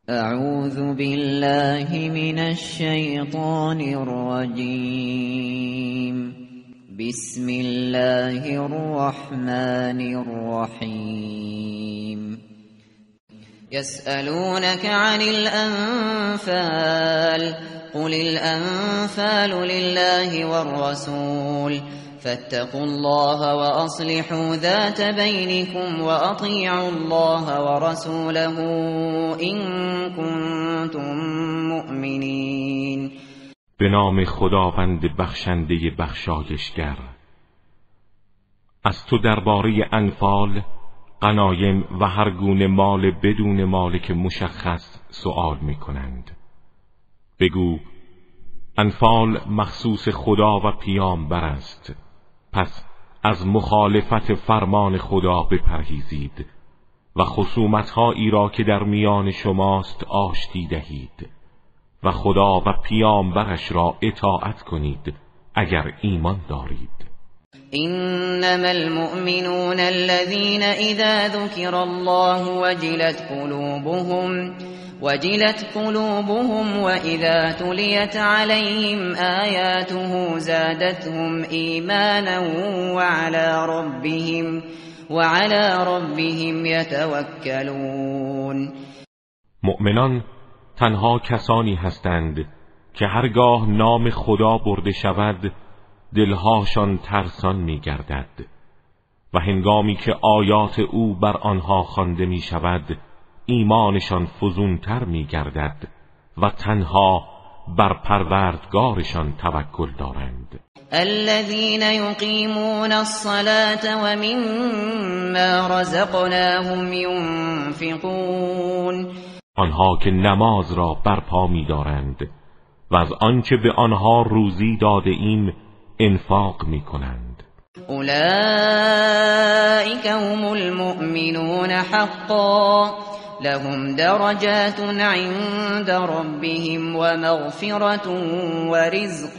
اعوذ بالله من الشیطان الرجیم. بسم الله الرحمن الرحیم. يسألونك عن الأنفال قل الأنفال لله والرسول فاتقوا الله وأصلحوا ذات بينكم وأطيعوا الله ورسوله إن كنتم مؤمنين. به نام خداوند بخشنده بخشایشگر. از تو درباره انفال، غنایم و هر گونه مال بدون مالک مشخص سؤال می کنند. بگو انفال مخصوص خدا و پیامبر است، پس از مخالفت فرمان خدا بپرهیزید و خصومت‌هایی را که در میان شماست آشتی دهید و خدا و پیامبرش را اطاعت کنید اگر ایمان دارید. إنما المؤمنون الذين إذا ذكر الله وجلت قلوبهم وإذا تليت عليهم آياته زادتهم إيمانا وعلى ربهم يتوكلون. مؤمنان تنها کسانی هستند که هرگاه نام خدا برده شود دلهاشان ترسان می گردد و هنگامی که آیات او بر آنها خوانده می شود ایمانشان فزونتر می گردد و تنها بر پروردگارشان توکل دارند. الذين يقيمون الصلاة ومما رزقناهم ينفقون. آنها که نماز را برپا می دارند و از آنچه به آنها روزی داده ایم انفاق می کنند. اولئک هم المؤمنون حقا لهم درجات عند ربهم ومغفرة ورزق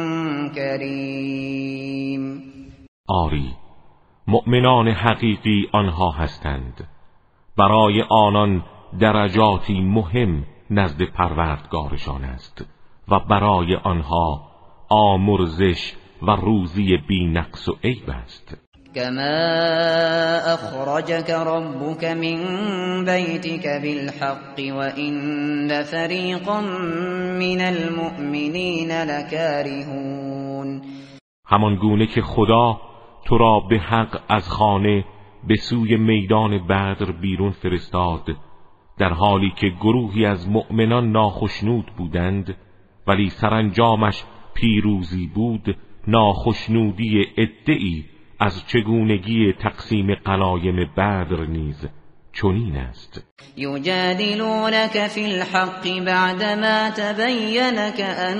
کریم. آری، مؤمنان حقیقی آنها هستند، برای آنان درجاتی مهم نزد پروردگارشان است و برای آنها آمرزش و روزی بی نقص و عیب است. كما اخرجك ربك من بيتك بالحق وإن فريقا من المؤمنين لكارهون. همان گونه که خدا تو را به حق از خانه به سوی میدان بدر بیرون فرستاد، در حالی که گروهی از مؤمنان ناخشنود بودند، ولی سرانجامش پیروزی بود، ناخشنودی عده‌ای از چگونگی تقسیم غنایم بدر نیز چنین است. یجادلونک فی الحق بعدما تبین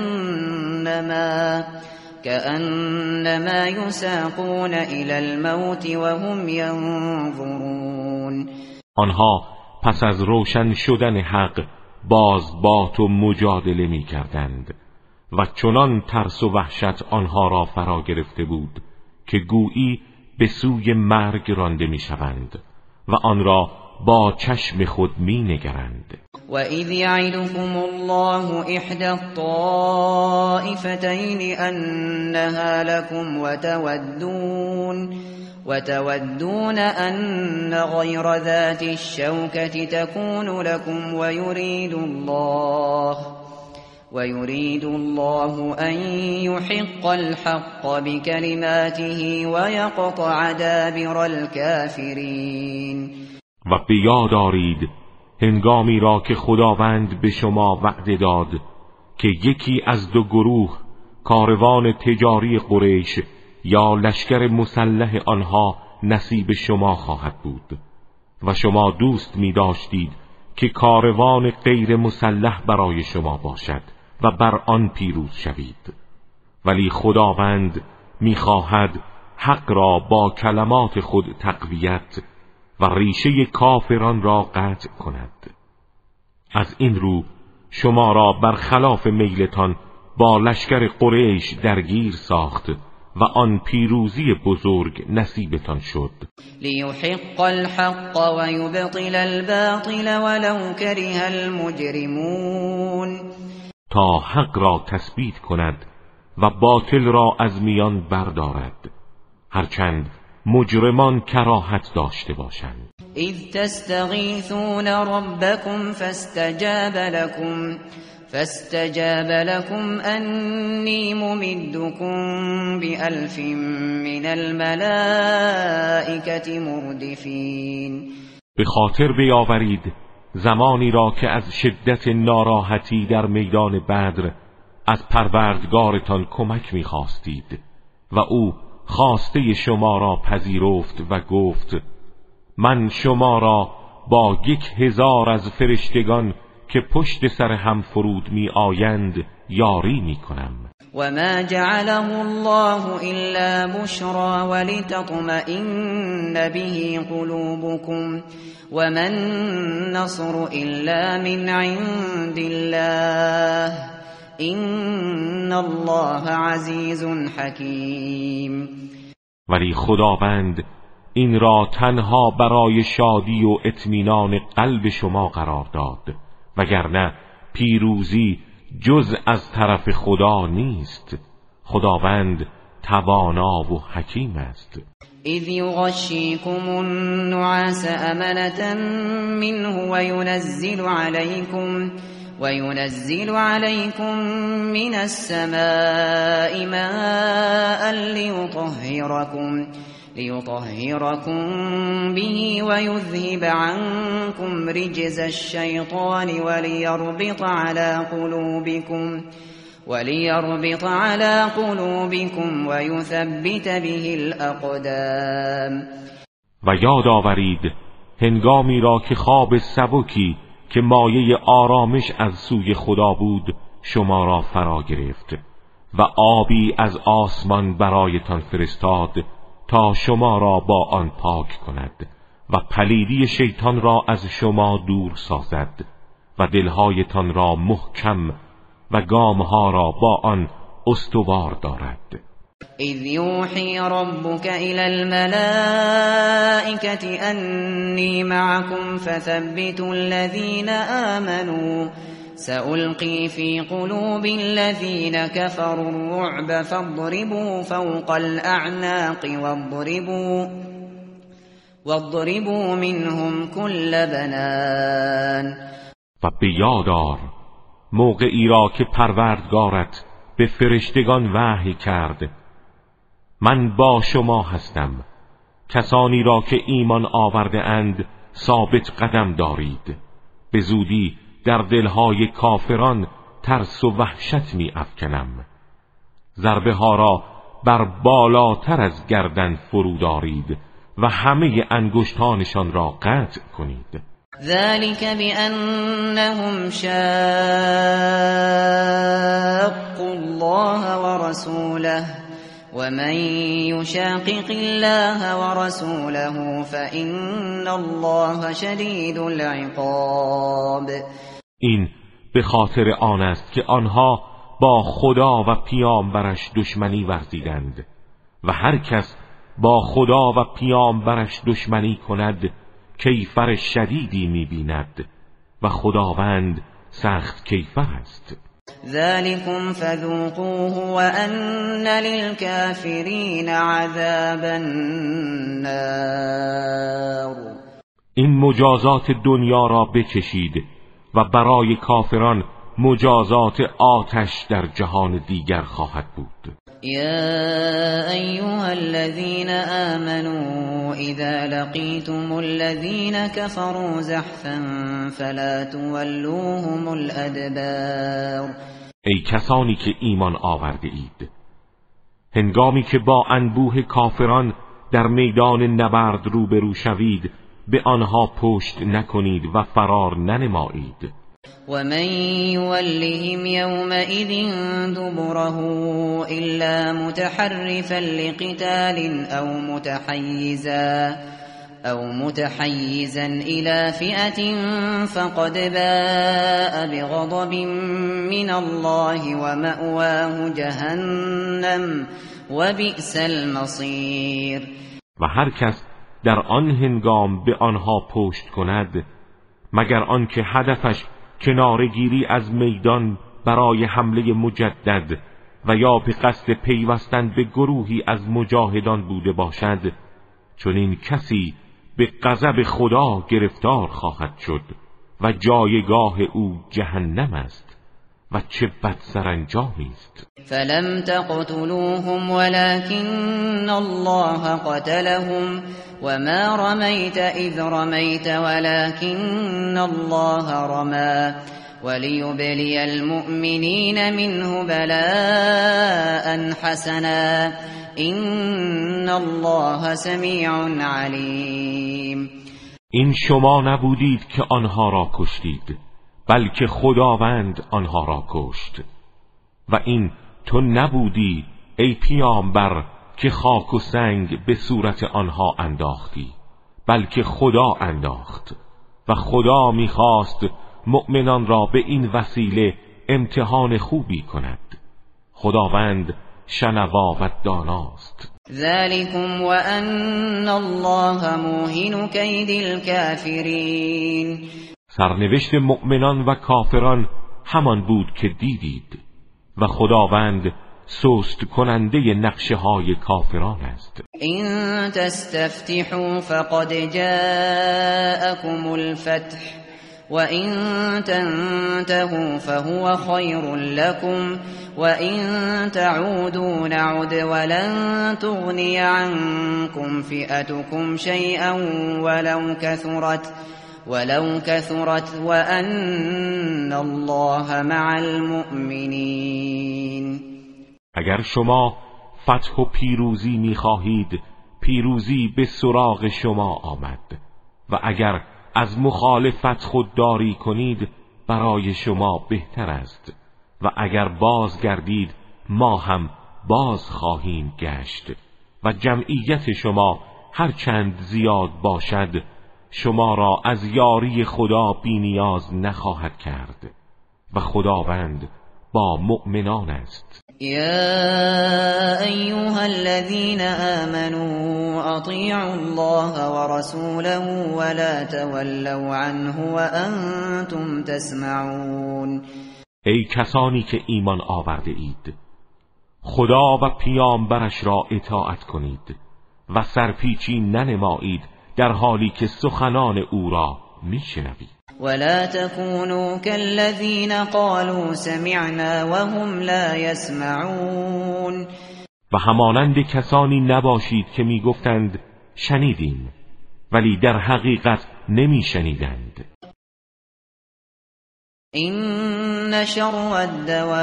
كأنما يساقون إلى الموت وهم ينظرون. آنها پس از روشن شدن حق باز با تو مجادله می کردند و چنان ترس و وحشت آنها را فرا گرفته بود که گویی به سوی مرگ رانده می شوند و آن را با چشم خود می نگرند. و اذ یعدکم الله احدی الطائفتین انها لکم وتودون ان غیر ذات الشوکة تكون لكم ويريد الله أن يحق الحق بكلماته ويقطع دابر الكافرين. و به یاد آرید هنگامی را که خداوند به شما وعده داد که یکی از دو گروه، کاروان تجاری قریش یا لشکر مسلح آنها، نصیب شما خواهد بود و شما دوست می داشتید که کاروان غیر مسلح برای شما باشد و بر آن پیروز شوید، ولی خداوند می‌خواهد حق را با کلمات خود تقویت و ریشه کافران را قطع کند. از این رو شما را برخلاف میلتان با لشکر قریش درگیر ساخت و آن پیروزی بزرگ نصیبتان شد. لیحق الحق و یبطل الباطل ولو کره المجرمون، تا حق را تثبیت کند و باطل را از میان بردارد، هرچند مجرمان کراهت داشته باشند. اذ تستغیثون ربکم فاستجاب لكم أني ممدكم بألف من الملائكة مردفين. به خاطر بیاورید زمانی را که از شدت ناراحتی در میدان بدر از پروردگارتان کمک می‌خواستید و او خواسته شما را پذیرفت و گفت من شما را با 1000 از فرشتگان که پشت سر هم فرود می آیند یاری می کنم. و ما جعله الله الا بشرا ولتطمئن به قلوبكم و ما النصر الا من عند الله ان الله عزیز حکیم. ولی خداوند این را تنها برای شادی و اطمینان قلب شما قرار داد، وگرنه پیروزی جز از طرف خدا نیست. خداوند توانا و حکیم است. اذ یغشیکم النعاس امنة منه وينزل عليكم من السماء ماء ليطهركم به ويذهب عنكم رجز الشيطان وليربط على قلوبكم ويثبت به الأقدام. و یاد آورید هنگامی را که خواب سبکی که مایه آرامش از سوی خدا بود شما را فرا گرفت و آبی از آسمان برایتان فرستاد تا شما را با آن پاک کند و پلیدی شیطان را از شما دور سازد و دلهایتان را محکم و گامها را با آن استوار دارد. اذ یوحی ربک الی الملائکة انی معکم فثبتوا الذین آمنوا سألقي في قلوب الذين كفروا الرعب فاضربوا فوق الأعناق واضربوا منهم كل بنان. و به یاد آر موقعی را که پروردگارت به فرشتگان وحی کرد من با شما هستم، کسانی را که ایمان آورده اند ثابت قدم دارید، به زودی در دلهای کافران ترس و وحشت می افکنم. ضربه ها را بر بالاتر از گردن فرو دارید و همه انگشتانشان را قطع کنید. ذلك بأنهم شاقوا الله ورسوله ومن يشاقق الله ورسوله فإن الله شدید العقاب. این به خاطر آن است که آنها با خدا و پیامبرش دشمنی ورزیدند و هر کس با خدا و پیامبرش دشمنی کند کیفر شدیدی می‌بیند و خداوند سخت کیفر است. ذلكم فذوقوه وأن للكافرین عذاب النار. این مجازات دنیا را بچشید و برای کافران مجازات آتش در جهان دیگر خواهد بود. یا ایها الذین آمنوا اذا لقیتم الذین کفروا زحفا فلا تولوهم الادبار. ای کسانی که ایمان آورده اید، هنگامی که با انبوه کافران در میدان نبرد روبرو شوید به آنها پشت نکنید و فرار ننمایید. ومن يولهم يومئذ دبره إلا متحرفا لقتال أو متحيزا إلى فئة فقد باء بغضب من الله ومأواه جهنم وبئس المصیر. و هر کس در آن هنگام به آنها پشت کند مگر آنکه هدفش کنارگیری از میدان برای حمله مجدد و یا به قصد پیوستن به گروهی از مجاهدان بوده باشد، چون این کسی به غضب خدا گرفتار خواهد شد و جایگاه او جهنم است و چه بد سرانجامی است. فلم تقتلوهم ولكن الله قتلهم وما رميت إذ رميت ولكن الله رمى وليبلي المؤمنين منه بلاء حسنا إن الله سميع عليم. این شما نبودید که آنها را کشتید، بلکه خداوند آنها را کشت. و این تو نبودی ای پیامبر که خاک و سنگ به صورت آنها انداختی، بلکه خدا انداخت و خدا میخواست مؤمنان را به این وسیله امتحان خوبی کند. خداوند شنوا و داناست. ذلكم وأن الله موهن كید الكافرین. سرنوشت مؤمنان و کافران همان بود که دیدید و خداوند سست کننده نقشه های کافران است. این تستفتحوا فقد جاءكم الفتح وإن تنتهوا فهو خير لكم وإن تعودوا نعد ولن تغني عنكم فئتكم شيئا ولو كثرت وأن الله مع المؤمنين. اگر شما فتح و پیروزی می‌خواهید، پیروزی به سراغ شما آمد، و اگر از مخالفت خودداری کنید برای شما بهتر است، و اگر بازگردید ما هم باز خواهیم گشت و جمعیت شما هر چند زیاد باشد شما را از یاری خدا بی نیاز نخواهد کرد و خداوند با مؤمنان است. یا ایها الذین آمنوا اطیعوا الله ورسوله ولا تولوا عنه وانتم تسمعون. ای کسانی که ایمان آورده اید، خدا و پیامبرش را اطاعت کنید و سرپیچی ننمایید در حالی که سخنان او را میشنوید. ولا تكونوا كالذين قالوا سمعنا وهم لا يسمعون. و همانند کسانی نباشید که میگفتند شنیدیم ولی در حقیقت نمیشنیدند. این شر الدواب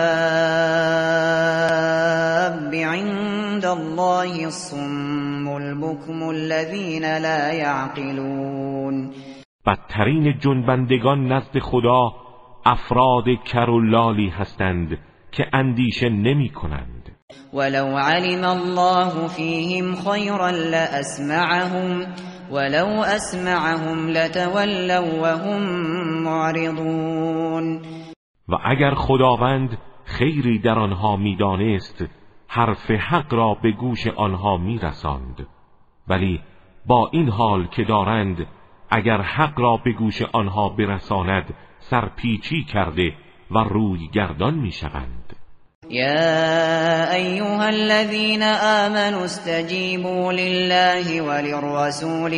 عند الله الصم البكم الذين لا يعقلون. بدترین جنبندگان نزد خدا افراد کرلالی هستند که اندیشه نمی کنند. ولو علم الله فیهم خیرا لاسمعهم ولو اسمعهم لتولوا وهم معرضون. و اگر خداوند خیری در آنها میدانست حرف حق را به گوش آنها میرساند، ولی با این حال که دارند اگر حق را به گوش آنها برساند سرپیچی کرده و روی گردان میشوند. یا ایها الذین آمنوا استجیبوا لله وللرسول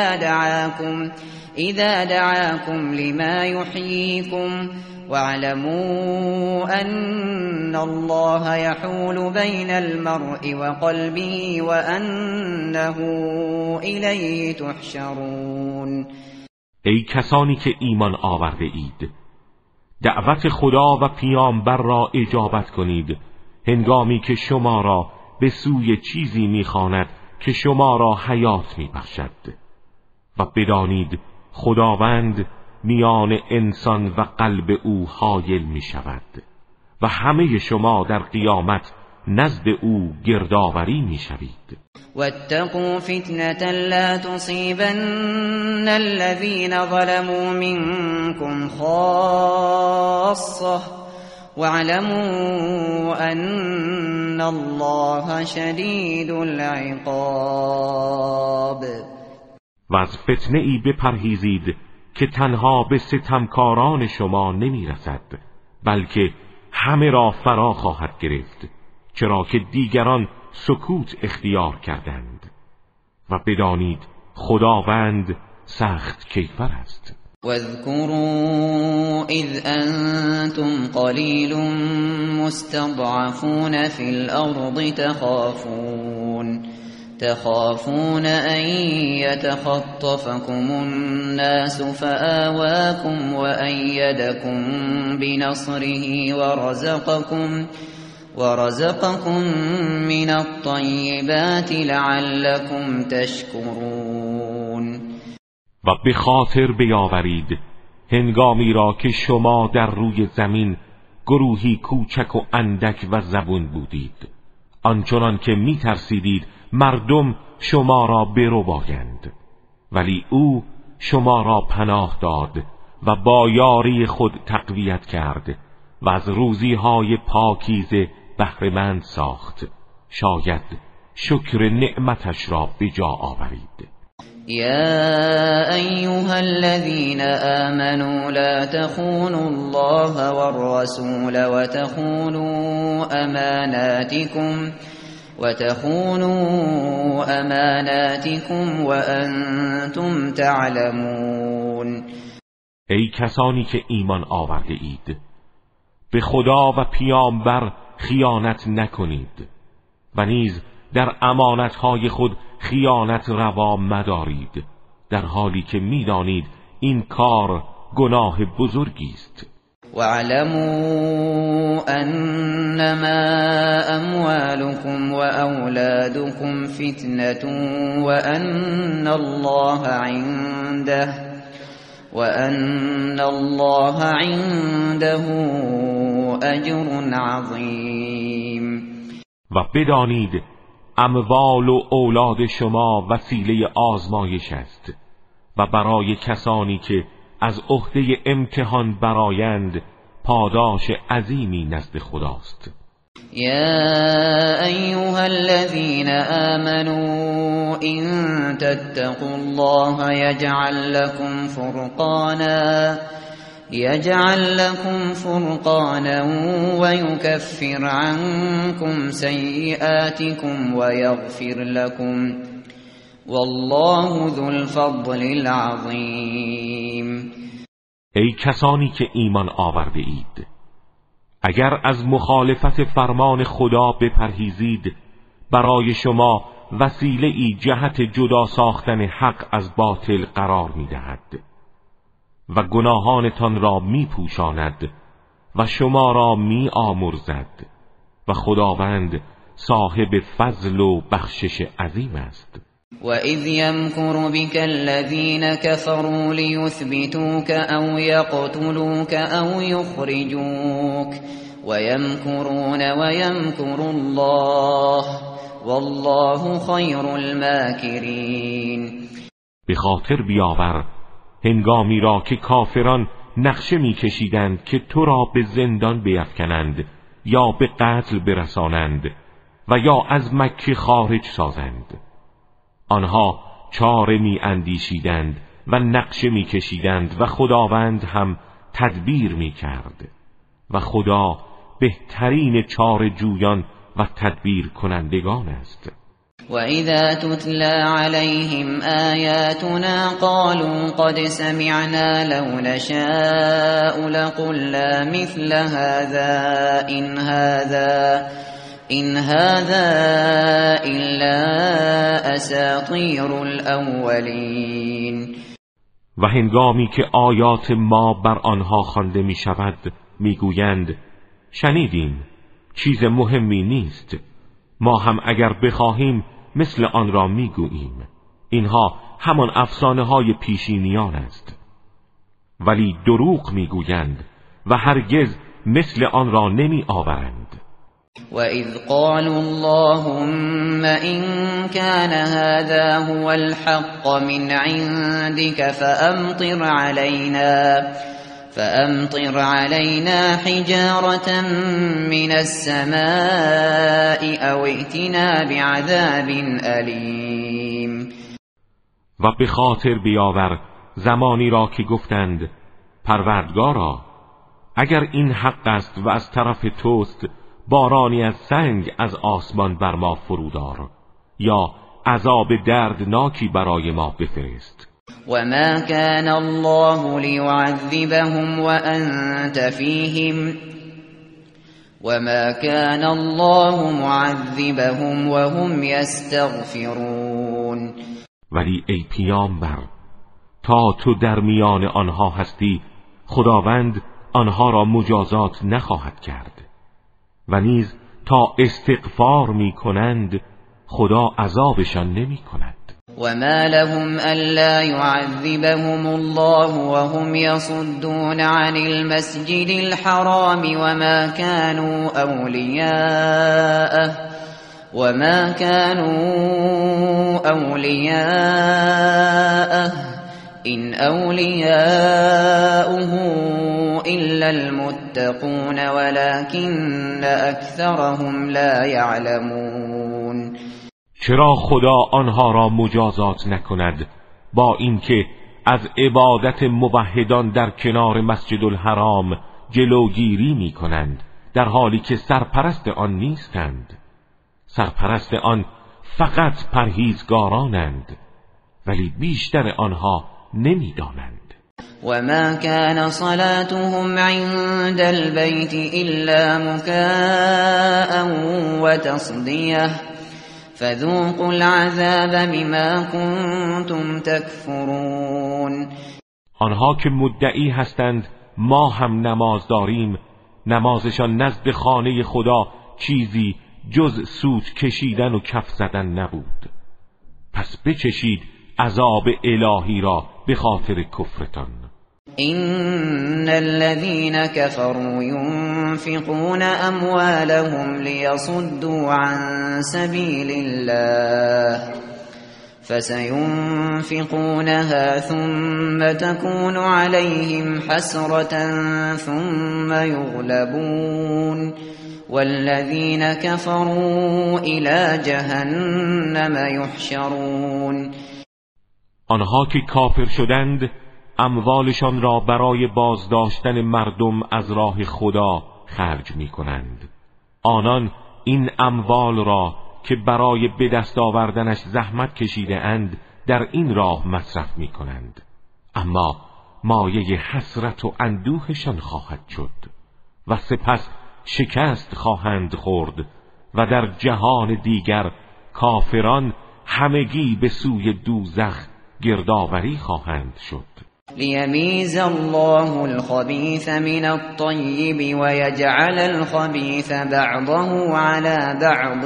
اذا دعاكم لما يحييكم واعلموا ان الله يحول بين المرء وقلبه وانه الیه تحشرون. ای کسانی که ایمان آورده اید، دعوت خدا و پیامبر را اجابت کنید هنگامی که شما را به سوی چیزی می‌خواند که شما را حیات می‌بخشد، و بدانید خداوند میان انسان و قلب او حایل می‌شود و همه شما در قیامت نزد او گردآوری می‌شوید. واتقوا فتنة لا تصيبن الذين ظلموا منكم خاصة واعلموا ان الله شدید العقاب. و از فتنه ای بپرهیزید که تنها به ستمکاران شما نمیرسد، بلکه همه را فرا خواهد گرفت، چرا که دیگران سکوت اختیار کردند. و بدانید خداوند سخت کیفر است. واذكروا اذ انتم قلیل مستضعفون فی الارض تخافون ان يتخطفكم الناس فآواكم وأيدكم بنصره ورزقكم من الطیبات لعلكم تشکرون. و به خاطر بیاورید هنگامی را که شما در روی زمین گروهی کوچک و اندک و زبون بودید، آنچنان که می ترسیدید مردم شما را بربایند، ولی او شما را پناه داد و با یاری خود تقویت کرد و از روزیهای پاکیزه بهره‌مند ساخت. شاید شکر نعمتش را به جا آورید. یا ایها الذین آمنوا لا تخونوا الله والرسول وتخونوا اماناتكم وانتم تعلمون. ای کسانی که ایمان آورده اید، به خدا و پیامبر خیانت نکنید و نیز در امانتهای خود خیانت روا مدارید، در حالی که میدانید این کار گناه بزرگی است. واعلموا انما اموالكم واولادكم فتنة وان الله عنده اجر عظیم. و بدانید اموال و اولاد شما وسیله آزمایش است و برای کسانی که از عهده امتحان برآیند پاداش عظیمی نزد خداست. یا ایها الذین آمنوا ان تتقوا الله یجعل لكم فرقانا ويكفر عنكم سیئاتكم ويغفر لكم والله ذو الفضل العظیم. ای کسانی که ایمان آورده اید، اگر از مخالفت فرمان خدا بپرهیزید برای شما وسیله ای جهت جدا ساختن حق از باطل قرار می‌دهد و گناهانتان را می‌پوشاند و شما را می‌آمرزد و خداوند صاحب فضل و بخشش عظیم است. وَإِذْ يَمْكُرُ بِكَ الَّذِينَ كَفَرُوا لِيُثْبِتُوكَ أَوْ يَقْتُلُوكَ أَوْ يُخْرِجُوكَ وَيَمْكُرُونَ وَيَمْكُرُ اللَّهُ وَاللَّهُ خَيْرُ الْمَاكِرِينَ. به خاطر بیاور هنگامی را که کافران نقشه می‌کشیدند که تو را به زندان بیفکنند یا به قتل برسانند و یا از مکه خارج سازند. آنها چاره می اندیشیدند و نقشه می کشیدند و خداوند هم تدبیر می کرد و خدا بهترین چاره جویان و تدبیر کنندگان است. وَإِذَا تُتْلَى عَلَيْهِمْ آيَاتُنَا قَالُوا قَدْ سَمِعْنَا لَوْ نَشَاءُ لَقُلْنَا مِثْلَ هَذَا إِنْ هَذَا إِلَّا أَسَاطِيرُ الْأَوَّلِينَ. و هنگامی که آیات ما بر آنها خوانده می شود می گویند شنیدیم چیز مهمی نیست، ما هم اگر بخواهیم مثل آن را می گوییم، اینها همان افسانه های پیشینیان است. ولی دروغ می گویند و هرگز مثل آن را نمی آورند. وَإِذْ قَالُوا اللَّهُمَّ إِن كَانَ هَذَا هُوَ الْحَقَّ مِنْ عِندِكَ فأمطر علينا حجارة من السماء أو ائتنا بعذاب ألیم. و به خاطر بیاور زمانی را که گفتند پروردگارا اگر این حق است و از طرف توست بارانی از سنگ از آسمان بر ما فرودار یا عذاب دردناکی برای ما بفرست. وما كان الله ليعذبهم وأنت فيهم وما كان الله معذبهم وهم يستغفرون. ولی ای پیامبر تا تو در میان آنها هستی خداوند آنها را مجازات نخواهد کرد و نیز تا استغفار می کنند خدا عذابشان نمی کند. وما لهم ألا يعذبهم الله وهم يصدون عن المسجد الحرام وما كانوا أولياءه إن أولياؤه إلا المتقون ولكن أكثرهم لا يعلمون. چرا خدا آنها را مجازات نکند با اینکه از عبادت موحدان در کنار مسجد الحرام جلوگیری می کنند در حالی که سرپرست آن نیستند؟ سرپرست آن فقط پرهیزگارانند ولی بیشتر آنها نمی دانند. وما كان صلاتهم عند البيت إلا مكاء وتصدية فذوقوا العذاب بما كنتم تكفرون. آنها که مدعی هستند ما هم نماز داریم نمازشان نزد خانه خدا چیزی جز سوت کشیدن و کف زدن نبود. پس بچشید عذاب الهی را به خاطر کفرتان. إن الذين كفروا ينفقون أموالهم ليصدوا عن سبيل الله فسينفقونها ثم تكون عليهم حسرة ثم يغلبون والذين كفروا إلى جهنم يحشرون. آنها که کافر شدند اموالشان را برای بازداشتن مردم از راه خدا خرج می کنند. آنان این اموال را که برای به دست آوردنش زحمت کشیده اند در این راه مصرف می کنند، اما مایه حسرت و اندوهشان خواهد شد و سپس شکست خواهند خورد و در جهان دیگر کافران همگی به سوی دوزخ گردآوری خواهند شد. لیمیز الله الخبیث من الطیب و یجعل الخبیث بعضه على بعض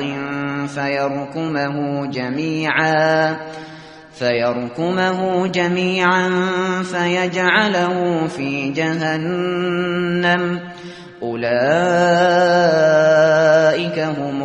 فیرکمه جمیعا فیجعله فی جهنم اولئک هم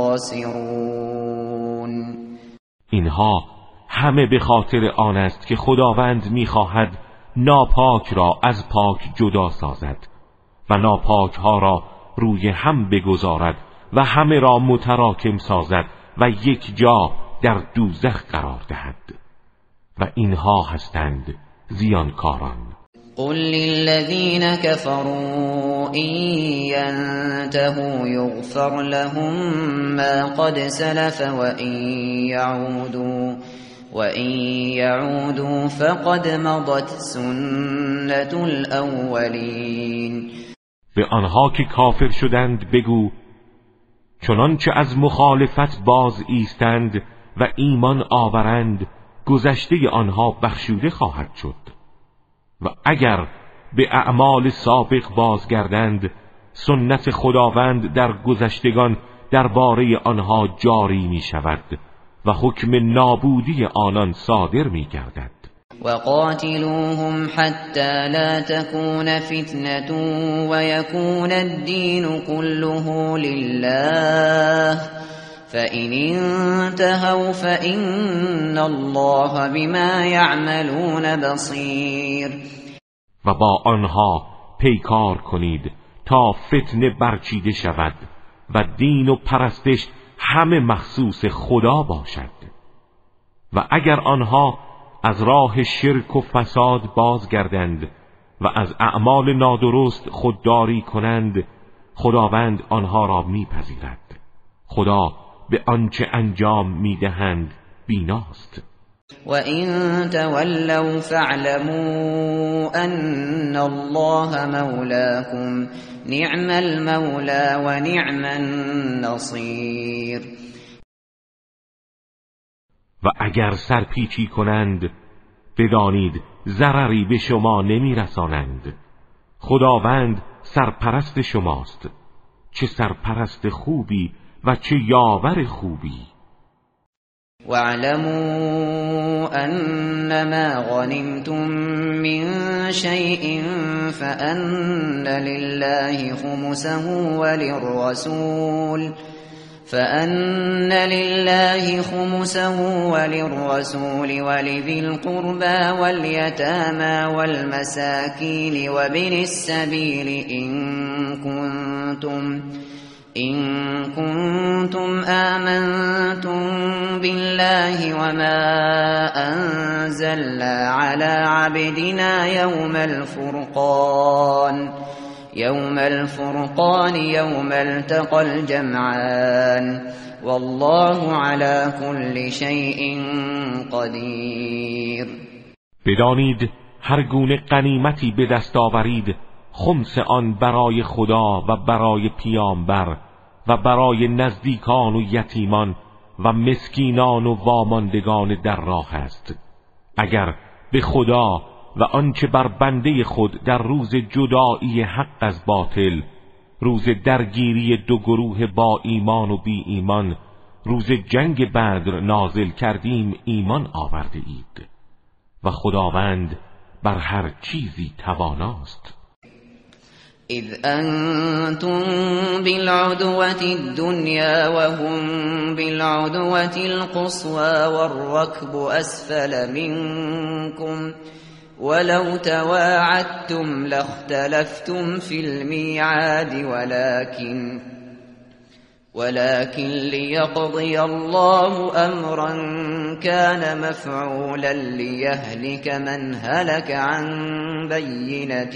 الخاسرون. اینها همه به خاطر آن است که خداوند می‌خواهد ناپاک را از پاک جدا سازد و ناپاک ها را روی هم بگذارد و همه را متراکم سازد و یک جا در دوزخ قرار دهد و اینها هستند زیانکاران. قل للذین كفروا إن ينتهوا يغفر لهم ما قد سلف وإن يعودوا فقد مضت سنة الأولين. به آنها که کافر شدند بگو چنانچه از مخالفت باز ایستند و ایمان آورند گذشته آنها بخشوده خواهد شد و اگر به اعمال سابق بازگردند سنت خداوند در گذشتگان درباره آنها جاری می شود و حکم نابودی آنان صادر می گردد. وقاتلوهم حتى لا تكون فتنة ويكون الدين كله لله فإن انتهوا فإن الله بما يعملون بصير. و با آنها پیکار کنید تا فتنه برچیده شود و دین و پرستش همه مخصوص خدا باشد. و اگر آنها از راه شرک و فساد بازگردند و از اعمال نادرست خودداری کنند، خداوند آنها را میپذیرد. خدا به آنچه انجام میدهند بیناست. وَإِن تَوَلَّوْا فَاعْلَمُوا أَنَّ اللَّهَ مَوْلَاكُمْ نِعْمَ الْمَوْلَى وَنِعْمَ النَّصِيرُ. و اگر سرپیچی کنند بدانید ضرری به شما نمیرسانند. خداوند سرپرست شماست، چه سرپرست خوبی و چه یاور خوبی. وَاعْلَمُوا أَنَّمَا غَنِمْتُم مِّن شَيْءٍ فَأَنَّ لِلَّهِ خُمُسَهُ وَلِلرَّسُولِ وَلِذِي الْقُرْبَى وَالْيَتَامَى وَالْمَسَاكِينِ وَابْنِ السَّبِيلِ إن كنتم آمنتم بالله وما أنزلنا على عبدنا يوم الفرقان يوم التقى الجمعان والله على كل شيء قدیر. بدانید هر گونه غنیمتی به دست آورید خمس آن برای خدا و برای پیامبر و برای نزدیکان و یتیمان و مسکینان و واماندگان در راه است. اگر به خدا و آنچه بر بنده خود در روز جدایی حق از باطل، روز درگیری دو گروه با ایمان و بی ایمان، روز جنگ بدر نازل کردیم ایمان آورده اید و خداوند بر هر چیزی تواناست. اذ انتم بالعدوة الدنيا وهم بالعدوة القصوى والركب اسفل منكم ولو تواعدتم لاختلفتم في الميعاد ولكن ليقضي الله أمرا كان مفعولا ليهلك من هلك عن بينة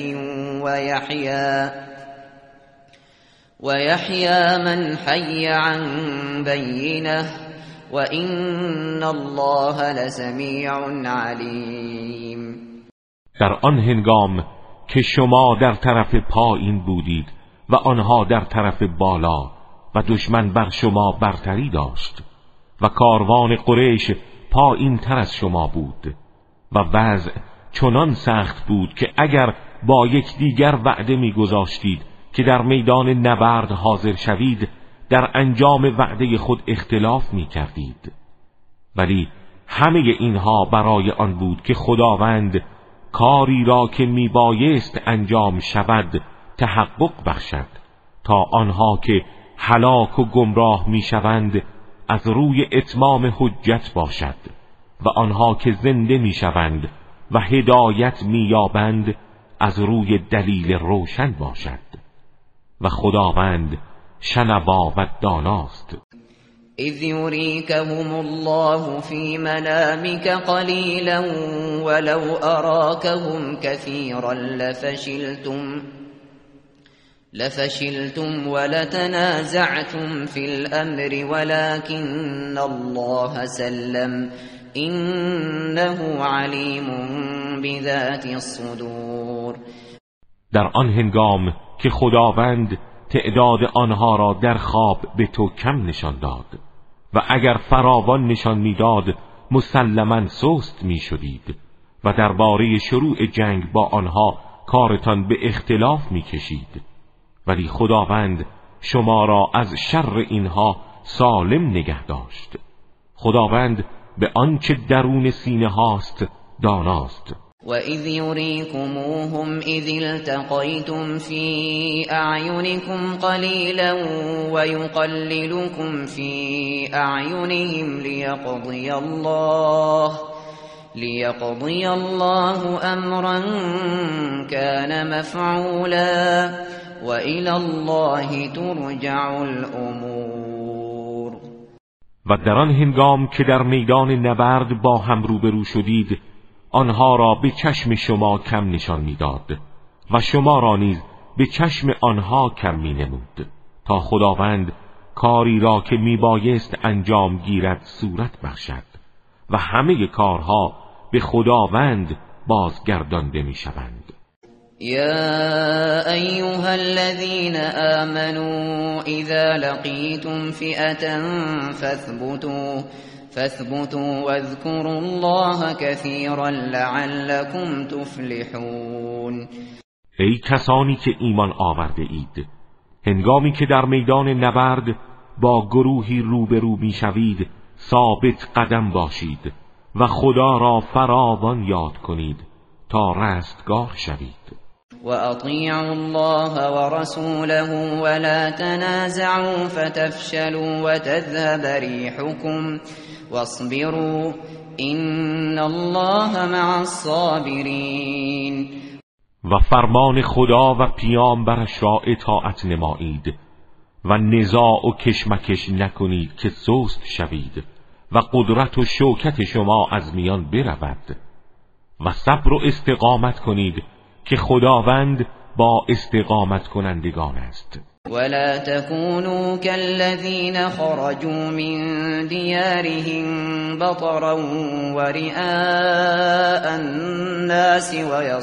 ويحيى من حي عن بينة وإن الله لسميع عليم. در آن هنگام که شما در طرف پایین بودید و آنها در طرف بالا و دشمن بر شما برتری داشت و کاروان قریش پایین تر از شما بود و وضع چنان سخت بود که اگر با یکدیگر وعده می‌گذاشتید که در میدان نبرد حاضر شوید در انجام وعده خود اختلاف می‌کردید. ولی همه اینها برای آن بود که خداوند کاری را که میبایست انجام شود تحقق بخشد تا آنها که هلاک و گمراه میشوند از روی اتمام حجت باشد و آنها که زنده میشوند و هدایت مییابند از روی دلیل روشن باشد و خداوند شنوا و داناست. اذ يريكهم الله في منامك قليلا ولو أراكهم كثيرا لفشلتم ولتنازعتم في الأمر ولكن الله سلم إنه عليم بذات الصدور. در آن هنگام که خداوند تعداد آنها را در خواب به تو کم نشان داد و اگر فراوان نشان میداد مسلماً سست میشدید و درباره شروع جنگ با آنها کارتان به اختلاف میکشید، ولی خداوند شما را از شر اینها سالم نگه داشت. خداوند به آنچه درون سینه هاست داناست. وَإِذْ يُرِيكُمُوهُمْ إِذِ الْتَقَيْتُمْ فِي أَعْيُنِكُمْ قَلِيلًا وَيُقَلِّلُكُمْ فِي أَعْيُنِهِمْ لیقضی الله امرا کان مفعولا و الی الله ترجع الامور. و در آن هنگام که در میدان نبرد با هم روبرو شدید، آنها را به چشم شما کم نشان میداد و شما را نیز به چشم آنها کم می نمود، تا خداوند کاری را که می بایست انجام گیرد صورت بخشد و همه کارها به خداوند بازگردانده می شوند. یا ایها الذین آمنوا اذا لقیتم فئة فاثبتوا واذكروا الله كثيرا لعلكم تفلحون. ای کسانی که ایمان آورده اید، هنگامی که در میدان نبرد با گروهی روبرو میشوید ثابت قدم باشید و خدا را فراوان یاد کنید تا رستگار شوید. و اطیعوا الله و رسوله ولا تنازعوا فتفشلوا وتذهب ریحكم واصبروا ان الله مع الصابرین. و فرمان خدا و پیامبرش را اطاعت نمایید و نزاع و کشمکش نکنید که سست شوید و قدرت و شوکت شما از میان برود و صبر و استقامت کنید که خداوند با استقامت کنندگان است. ولا تكونوا كالذين خرجوا من ديارهم بطرا ورئاء الناس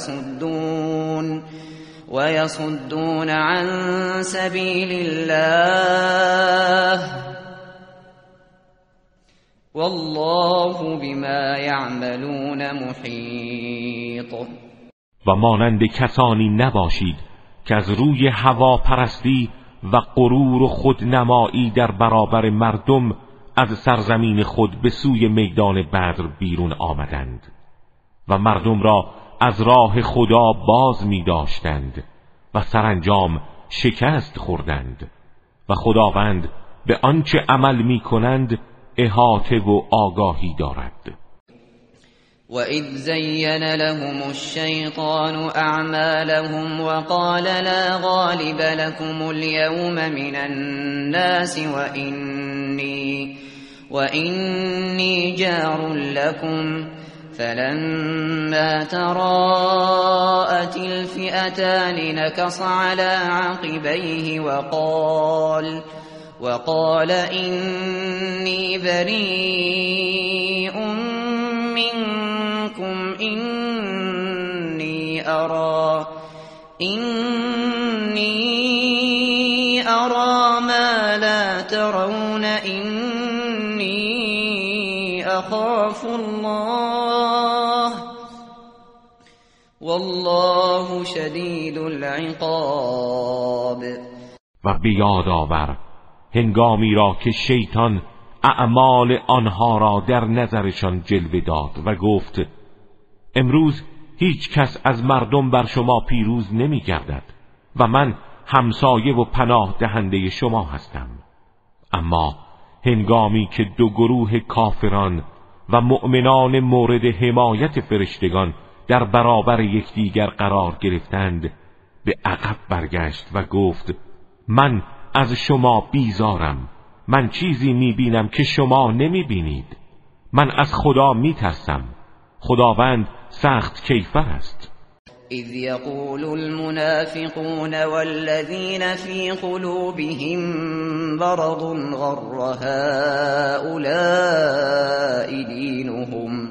ويصدون عن سبيل الله والله بما يعملون محيط. و مانند کسانی نباشید که از روی هواپرستی و غرور و خودنمایی در برابر مردم از سرزمین خود به سوی میدان بدر بیرون آمدند و مردم را از راه خدا باز می داشتند و سرانجام شکست خوردند و خداوند به آنچه عمل می کنند احاطه و آگاهی دارد. وَإِذْ زَيَّنَ لَهُمُ الشَّيْطَانُ أَعْمَالَهُمْ وَقَالَ لَا غَالِبَ لَكُمُ الْيَوْمَ مِنَ النَّاسِ وَإِنِّي جَارٌ لَكُمْ فَلَمَّا تَرَاءَتِ الْفِئَتَانِ نَكَصَ عَلَى عَقِبَيْهِ وقال إني بريء منكم إني أرى ما لا ترون إني أخاف الله والله شدید العقاب. و بیاد آور هنگامی را که شیطان اعمال آنها را در نظرشان جلوه داد و گفت امروز هیچ کس از مردم بر شما پیروز نمی گردد و من همسایه و پناه دهنده شما هستم. اما هنگامی که دو گروه کافران و مؤمنان مورد حمایت فرشتگان در برابر یکدیگر قرار گرفتند به عقب برگشت و گفت من از شما بیزارم، من چیزی میبینم که شما نمیبینید، من از خدا میترسم، خداوند سخت کیفر است. اذ یقول المنافقون والذین فی قلوبهم مرض غر هؤلاء دینهم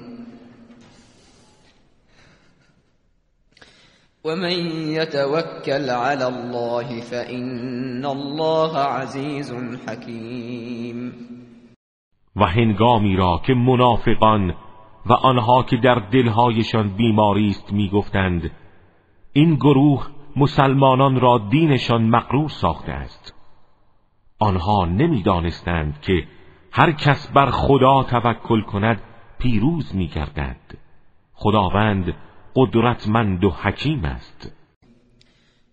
ومن يتوكل على الله فإن الله عزيز حكيم. و هنگامی را که منافقان و آنها که در دلهایشان بیماری است میگفتند این گروه مسلمانان را دینشان مغرور ساخته است، آنها نمیدانستند که هر کس بر خدا توکل کند پیروز میگردد. خداوند قدرتمند و حکیم است.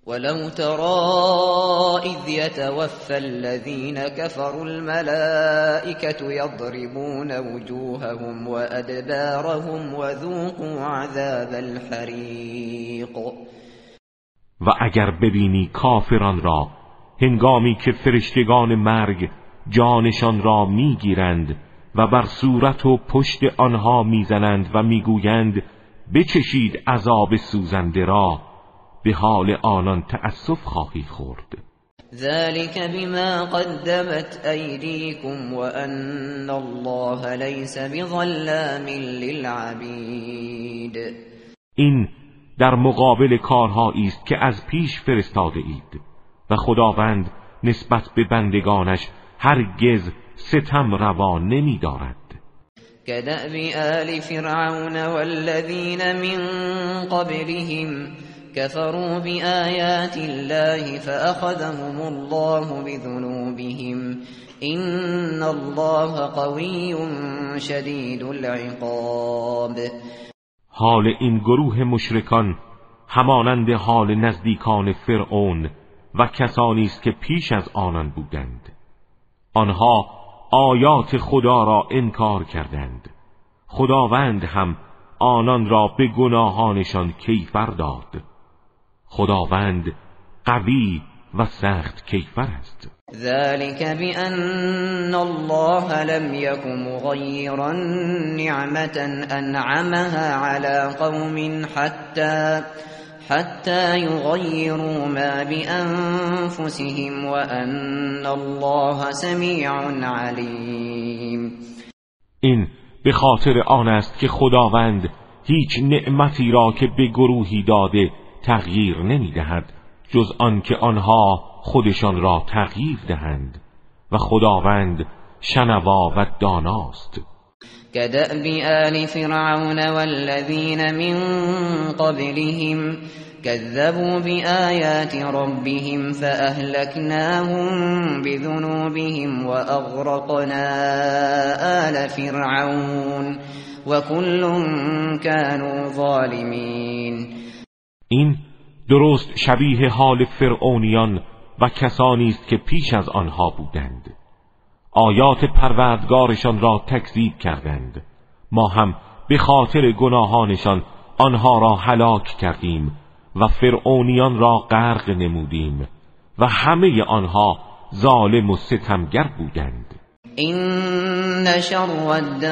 ولو ترى إذ يتوفى الذين كفروا الملائكة يضربون وجوههم وأدبارهم وذوقوا عذاب الحریق. و اگر ببینی کافران را هنگامی که فرشتگان مرگ جانشان را میگیرند و بر صورت و پشت آنها میزنند و میگویند بچشید عذاب سوزنده را، به حال آنان تأسف خواهی خورد. ذلك بما قدمت أيديكم وأن الله ليس بظلام للعبید. این در مقابل کارهایی است که از پیش فرستاده اید و خداوند نسبت به بندگانش هرگز ستم روا نمی دارد. كدأب آل فرعون والذين من قبلهم كفروا بآيات الله فأخذهم الله بذنوبهم إن الله قوي شدید العقاب. حال این گروه مشرکان همانند حال نزدیکان فرعون و کسانی است که پیش از آنان بودند. آنها آیات خدا را انکار کردند. خداوند هم آنان را به گناهانشان کیفر داد. خداوند قوی و سخت کیفر است. ذلك بأن الله لم يك مغيرا نعمة أنعمها على قوم حتى يغيروا ما بأنفسهم وأن الله سميع عليم. این به خاطر آن است که خداوند هیچ نعمتی را که به گروهی داده تغییر نمی دهد جز آن که آنها خودشان را تغییر دهند و خداوند شنوا و داناست. كدأب آل فرعون والذين من قبلهم كذبوا بآيات ربهم فأهلكناهم بذنوبهم وأغرقنا آل فرعون وكل كانوا ظالمين. این درست شبیه حال فرعونیان و کسانی است که پیش از آنها بودند. آیات پروردگارشان را تکذیب کردند. ما هم به خاطر گناهانشان آنها را هلاک کردیم و فرعونیان را غرق نمودیم و همه آنها ظالم و ستمگر بودند. إن شر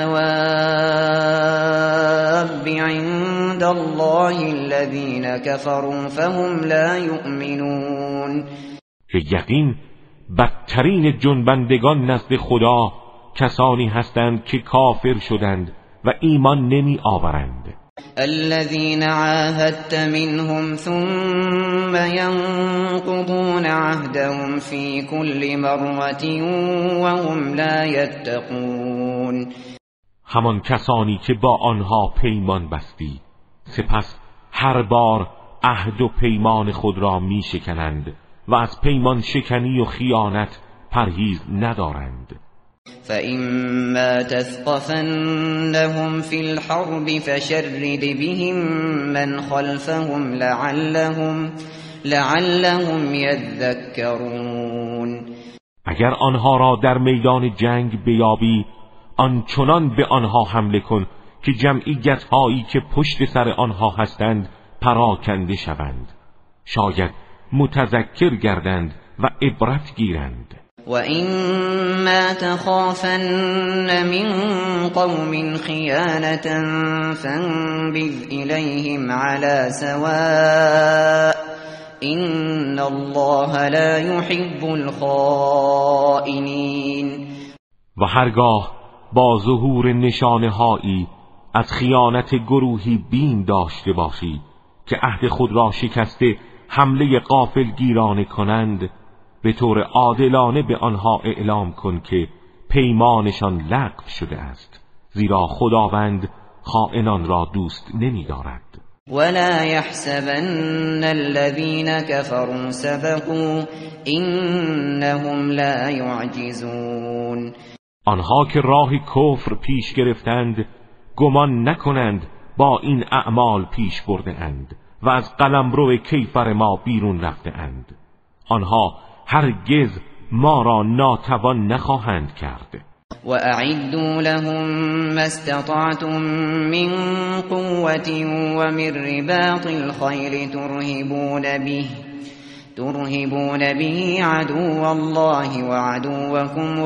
الدواب عند الله الذين كفروا فهم لا يؤمنون. که یقین بدترین جنبندگان نزد خدا کسانی هستند که کافر شدند و ایمان نمی آورند. الذين عاهدت منهم ثم ينقضون عهدهم في كل مرة وهم لا يتقون. همان کسانی که با آنها پیمان بستی سپس هر بار عهد و پیمان خود را می شکنند و از پیمان شکنی و خیانت پرهیز ندارند. فإما تثقفنهم في الحرب فشرد بهم من خلفهم لعلهم يذكرون. اگر آنها را در میدان جنگ بیابی آنچنان به آنها حمله کن که جمعیت هایی که پشت سر آنها هستند پراکنده شوند، شاید متذکر گردند و عبرت گیرند. وَإِمَّا تَخَافَنَّ مِنْ قَوْمٍ خِيَانَةً فَانبِذْ إِلَيْهِمْ عَلَى سَوَاءٍ إِنَّ اللَّهَ لَا يُحِبُّ الْخَائِنِينَ. و هرگاه با ظهور نشانه‌هایی از خیانت گروهی بیم داشته باشی که عهد خود را شکسته حمله غافلگیرانه کنند، به طور عادلانه به آنها اعلام کن که پیمانشان لغو شده است، زیرا خداوند خائنان را دوست نمی دارد. ولا يحسبن الذين كفروا سبقوا إنهم لا يعجزون. آنها که راه کفر پیش گرفتند گمان نکنند با این اعمال پیش برده اند و از قلمرو کیفر ما بیرون رفته اند. آنها هرگز ما را ناتوان نخواهند کرد. وأعدوا لهم ما استطعتم من قوة ومن رباط الخيل ترهبون به عدو الله وعدوكم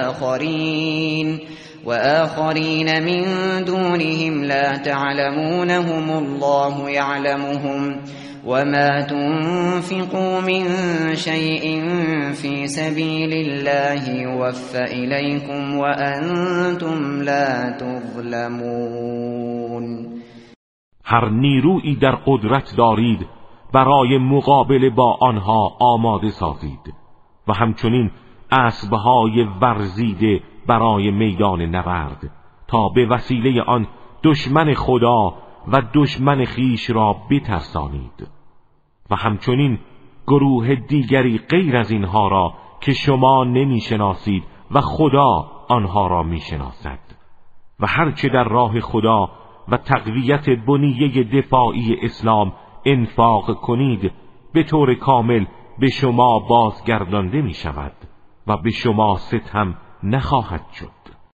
وآخرين من دونهم لا تعلمونهم الله يعلمهم وما تنفقوا من شيء في سبيل الله يوفى إليكم وأنتم لا تظلمون. هر نیرویی در قدرت دارید برای مقابله با آنها آماده سازید و همچنین اسبهای ورزیده برای میدان نبرد تا به وسیله آن دشمن خدا و دشمن خیش را بترسانید و همچنین گروه دیگری غیر از اینها را که شما نمیشناسید و خدا آنها را میشناسد و هرچه در راه خدا و تقویت بنیه دفاعی اسلام انفاق کنید به طور کامل به شما بازگردانده می شود و به شما ستم نخواهد شد.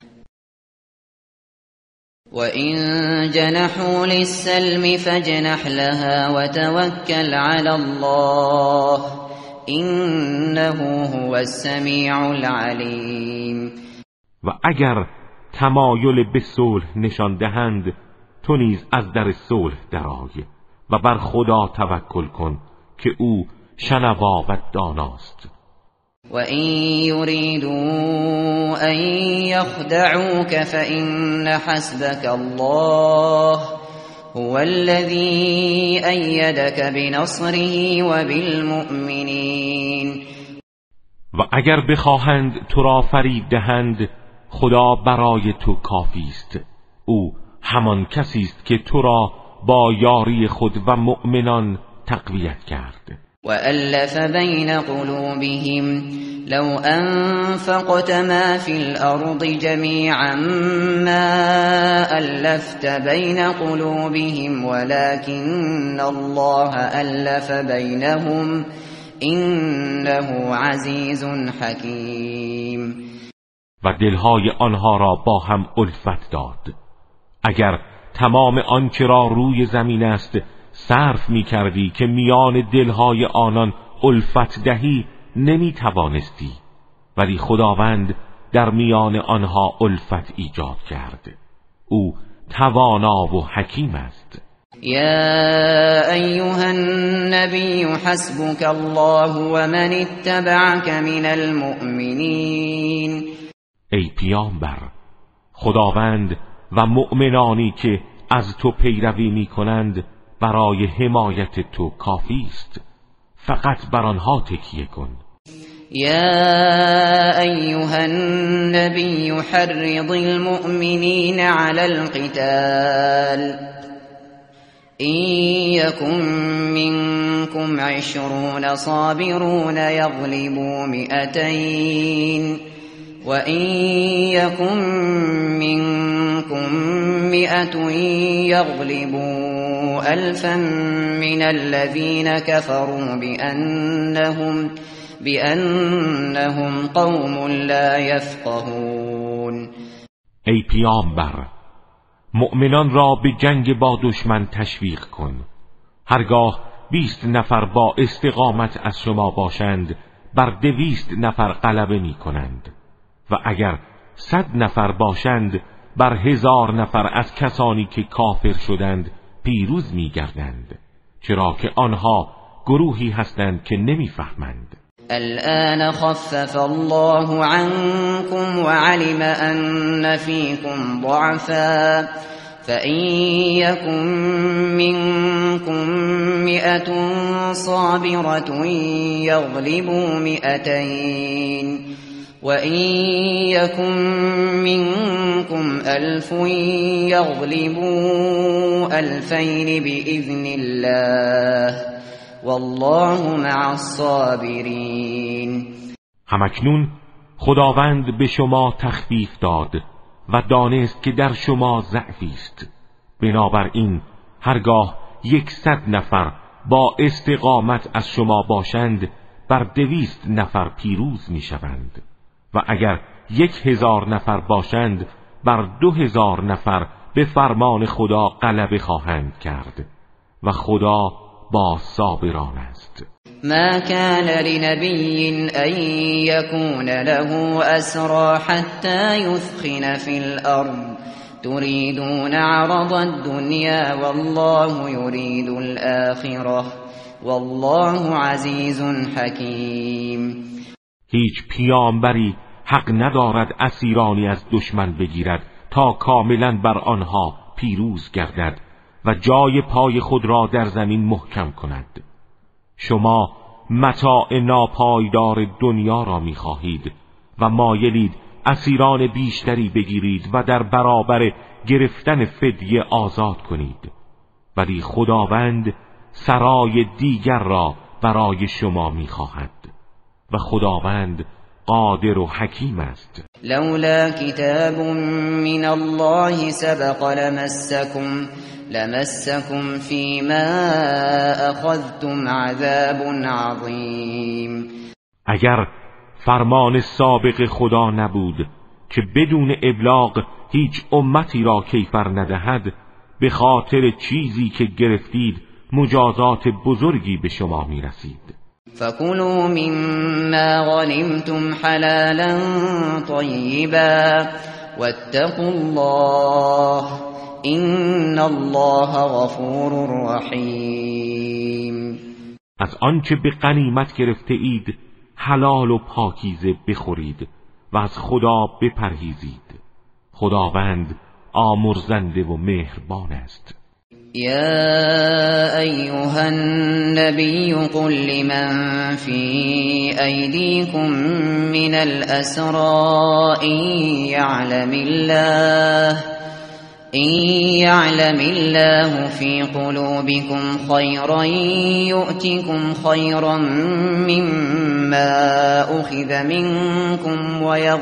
وَإِن جَنَحُوا لِلسَّلْمِ فَاجْنَحْ لَهَا وَتَوَكَّلْ عَلَى اللَّهِ إِنَّهُ هُوَ السَّمِيعُ الْعَلِيمُ. و اگر تمایل به صلح نشان دهند تو نیز از در صلح درآی و بر خدا توکل کن که او شنوا و داناست. وَإِن يُرِيدُوا أَن يَخْدَعُوكَ فَإِنَّ حَسْبَكَ اللَّهُ هُوَ الَّذِي أَيَّدَكَ بِنَصْرِهِ وَبِالْمُؤْمِنِينَ. و اگر بخواهند تو را فریب دهند خدا برای تو کافی است. او همان کسی است که تو را با یاری خود و مؤمنان تقویت کرد. وَأَلَّفَ بَيْنَ قُلُوبِهِمْ لَوْ أَنفَقْتَ مَا فِي الْأَرْضِ جَمِيعًا مَا أَلَّفْتَ بَيْنَ قُلُوبِهِمْ وَلَكِنَّ اللَّهَ أَلَّفَ بَيْنَهُمْ إِنَّهُ عَزِیزٌ حَکِیم. و دلهای آنها را با هم الفت داد. اگر تمام آنچه را روی زمین است صرف می کردی که میان دلهای آنان الفت دهی نمی توانستی، ولی خداوند در میان آنها الفت ایجاد کرد. او توانا و حکیم است. یا ایها النبی حسبک الله و من اتبعک من المؤمنین. ای پیامبر، خداوند و مؤمنانی که از تو پیروی می کنند برای حمایت تو کافی است. فقط بر آنها تکیه کن. یا ایها النبی حرض المؤمنین علی القتال إن يكن منكم 20 صابرون يغلبوا 200 وإن يكن منكم 100 يغلبوا 1000 من الذين كفروا بأنهم قوم لا يفقهون. ای پیامبر، مؤمنان را به جنگ با دشمن تشویق کن. هرگاه 20 نفر با استقامت از شما باشند بر 200 نفر غلبه می کنند و اگر 100 نفر باشند بر 1000 نفر از کسانی که کافر شدند پیروز می گردند، چرا که آنها گروهی هستند که نمی فهمند. الآن خفف الله عنكم وعلم أن فيكم ضعفا فإن يكن منكم 100 صابرة يغلبوا 200 وإن يكن منكم 1000 يغلبوا 2000 بإذن الله والله مع الصابرین. همکنون خداوند به شما تخفیف داد و دانست که در شما ضعفی است. بنابراین هرگاه 100 نفر با استقامت از شما باشند بر 200 نفر پیروز میشوند و اگر 1000 نفر باشند بر 2000 نفر به فرمان خدا غلبه خواهند کرد و خدا با صابران است. ما كان لنبي أن يكون له أسرى حتى يثخن في الأرض تريدون عرض الدنيا والله يريد الآخرة والله عزيز حكيم. هیچ پیامبری حق ندارد اسیرانی از دشمن بگیرد تا کاملا بر آنها پیروز گردد و جای پای خود را در زمین محکم کند. شما متاع ناپایدار دنیا را می‌خواهید و مایلید اسیران بیشتری بگیرید و در برابر گرفتن فدیه آزاد کنید، ولی خداوند سرای دیگر را برای شما می‌خواهد و خداوند قادر و حکیم است. لولا کتاب من الله سبق لمسكم فيما اخذتم عذاب عظیم. اگر فرمان سابق خدا نبود که بدون ابلاغ هیچ امتی را کیفر ندهد، به خاطر چیزی که گرفتید مجازات بزرگی به شما میرسید. فكلوا مما غنمتم حلالا طيبا واتقوا الله ان الله غفور رحیم. از آنچه به غنیمت گرفته اید حلال و پاکیزه بخورید و از خدا بپرهیزید. خداوند آمرزنده و مهربان است. يا أيها النبي قل لمن في أيديكم من الأسرى إن يعلم الله في قلوبكم خيرا يؤتكم خيرا مما أخذ منكم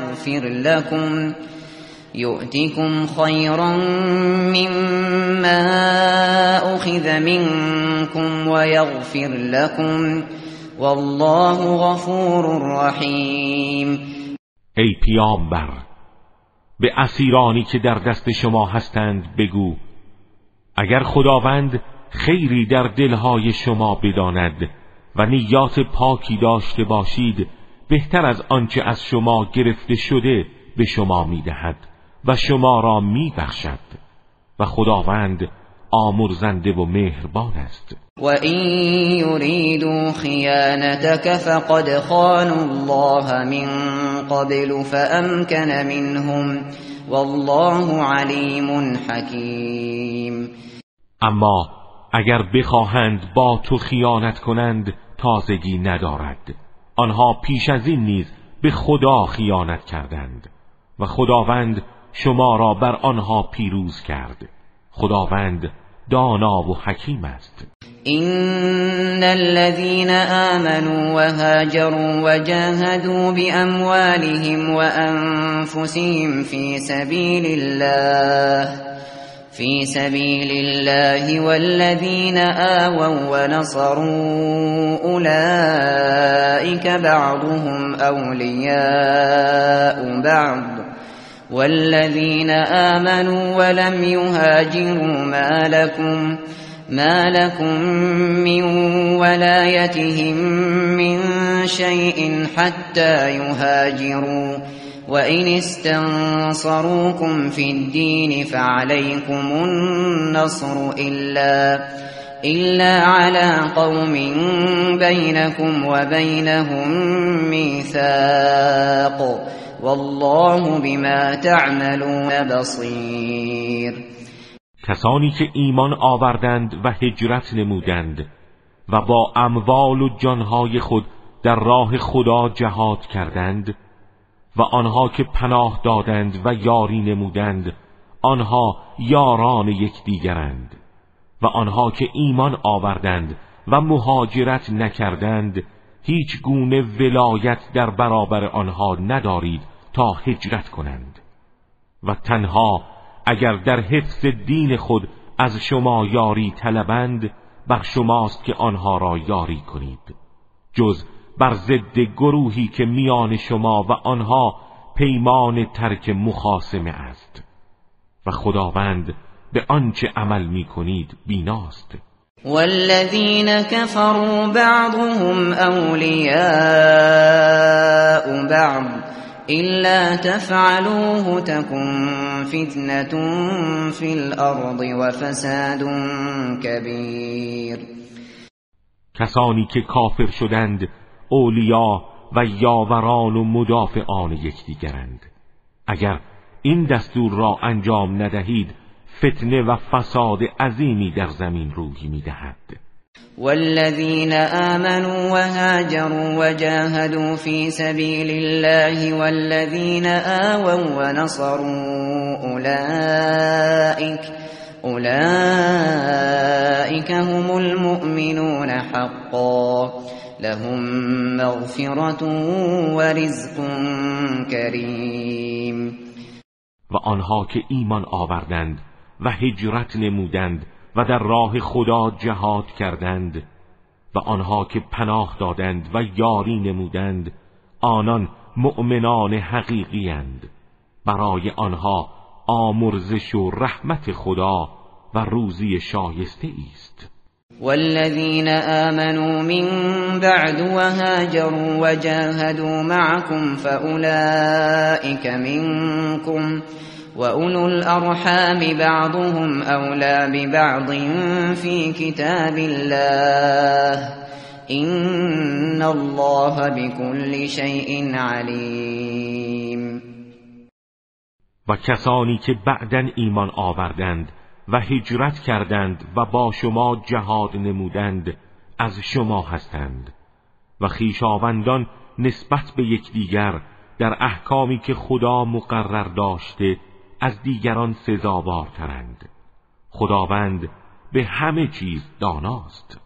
ويغفر لكم والله غفور رحیم. ای پیامبر، به اسیرانی که در دست شما هستند بگو اگر خداوند خیری در دلهای شما بداند و نیات پاکی داشته باشید، بهتر از آنچه از شما گرفته شده به شما میدهد و شما را میبخشد و خداوند آمرزنده و مهربان است. و این یریدوا خیانتک فقد خانوا الله من قبل فامکن منهم والله علیم حکیم. اما اگر بخواهند با تو خیانت کنند تازگی ندارد. آنها پیش از این نیز به خدا خیانت کردند و خداوند شما را بر آنها پیروز کرد. خداوند دانا و حکیم است. إن الذين آمنوا وهاجروا وجاهدوا بأموالهم وأنفسهم في سبيل الله والذين آووا ونصروا أولئك بعضهم أولياء بعض والذين آمنوا ولم يهاجروا ما لكم من ولايتهم من شيء حتى يهاجروا وإن استنصروكم في الدين فعليكم النصر إلا على قوم بينكم وبينهم ميثاق والله بما تعملون بصير. کسانی که ایمان آوردند و هجرت نمودند و با اموال و جانهای خود در راه خدا جهاد کردند و آنها که پناه دادند و یاری نمودند آنها یاران یکدیگرند و آنها که ایمان آوردند و مهاجرت نکردند هیچ گونه ولایت در برابر آنها ندارید تا هجرت کنند و تنها اگر در حفظ دین خود از شما یاری طلبند بر شماست که آنها را یاری کنید، جز بر ضد گروهی که میان شما و آنها پیمان ترک مخاصمه است و خداوند به آنچه عمل می‌کنید بیناست. والذین كفروا بعضهم اولیاء بعض إلا تفعلوه تكن فتنة في الأرض وفساد كبير. کسانی که کافر شدند اولیا و یاوران و مدافعان یکدیگرند. اگر این دستور را انجام ندهید فتنه و فساد عظیمی در زمین روی می‌دهد. والذين آمنوا وهاجروا وجاهدوا في سبيل الله والذين آووا ونصروا أولئك هم المؤمنون حقا لهم مغفرة ورزق كريم. و آنها که ایمان آوردند و هجرت نمودند و در راه خدا جهاد کردند و آنها که پناه دادند و یاری نمودند، آنان مؤمنان حقیقی اند. برای آنها آمرزش و رحمت خدا و روزی شایسته است. والذین آمنوا من بعد وهاجروا وجاهدوا معكم فأولئك منكم وأولو الأرحام بعضهم أولى ببعض في كتاب الله إن الله بكل شيء عليم. و کسانی که بعداً ایمان آوردند و هجرت کردند و با شما جهاد نمودند از شما هستند و خویشاوندان نسبت به یکدیگر در احکامی که خدا مقرر داشته از دیگران سزاوارترند. خداوند به همه چیز داناست.